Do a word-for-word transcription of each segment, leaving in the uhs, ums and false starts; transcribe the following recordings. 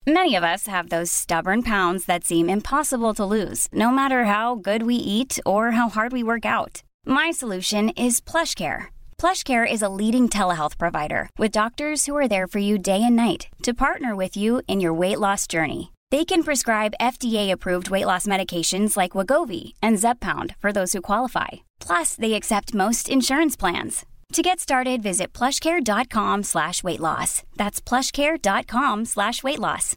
Many of us have those stubborn pounds that seem impossible to lose, no matter how good we eat or how hard we work out. My solution is PlushCare. PlushCare is a leading telehealth provider with doctors who are there for you day and night to partner with you in your weight loss journey. They can prescribe F D A-approved weight loss medications like Wegovy and Zepbound for those who qualify. Plus, they accept most insurance plans. To get started, visit plushcare.com slash weight loss. That's plushcare.com slash weight loss.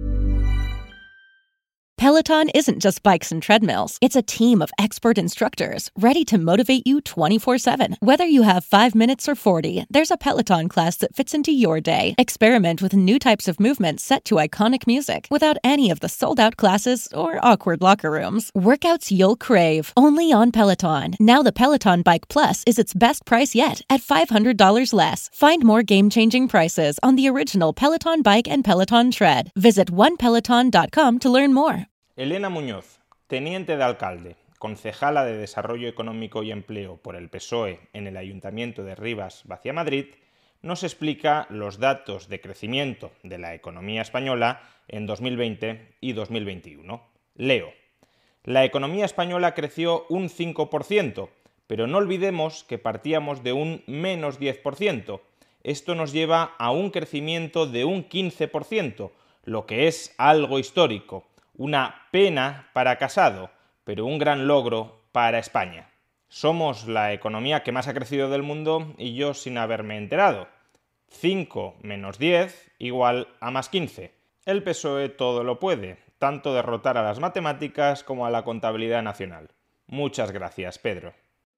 Peloton isn't just bikes and treadmills. It's a team of expert instructors ready to motivate you twenty-four seven. Whether you have five minutes or forty, there's a Peloton class that fits into your day. Experiment with new types of movements set to iconic music without any of the sold-out classes or awkward locker rooms. Workouts you'll crave, only on Peloton. Now the Peloton Bike Plus is its best price yet at five hundred dollars less. Find more game-changing prices on the original Peloton Bike and Peloton Tread. Visit one peloton dot com to learn more. Elena Muñoz, teniente de alcalde, concejala de Desarrollo Económico y Empleo por el P S O E en el Ayuntamiento de Rivas-Vaciamadrid, nos explica los datos de crecimiento de la economía española en dos mil veinte y dos mil veintiuno. Leo. La economía española creció un cinco por ciento, pero no olvidemos que partíamos de un menos diez por ciento. Esto nos lleva a un crecimiento de un quince por ciento, lo que es algo histórico. Una pena para Casado, pero un gran logro para España. Somos la economía que más ha crecido del mundo y yo sin haberme enterado. cinco menos diez igual a más quince. El P S O E todo lo puede, tanto derrotar a las matemáticas como a la contabilidad nacional. Muchas gracias, Pedro.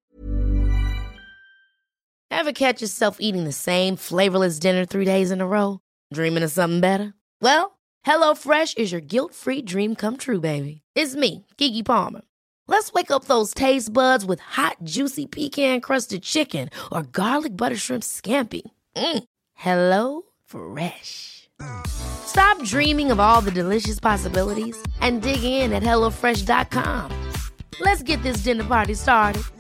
Ever catch yourself eating the same flavorless dinner three days in a row? Dreaming of something better? Well, HelloFresh is your guilt-free dream come true, baby. It's me, Keke Palmer. Let's wake up those taste buds with hot, juicy pecan-crusted chicken or garlic butter shrimp scampi. Mm. Hello Fresh. Stop dreaming of all the delicious possibilities and dig in at hello fresh dot com. Let's get this dinner party started.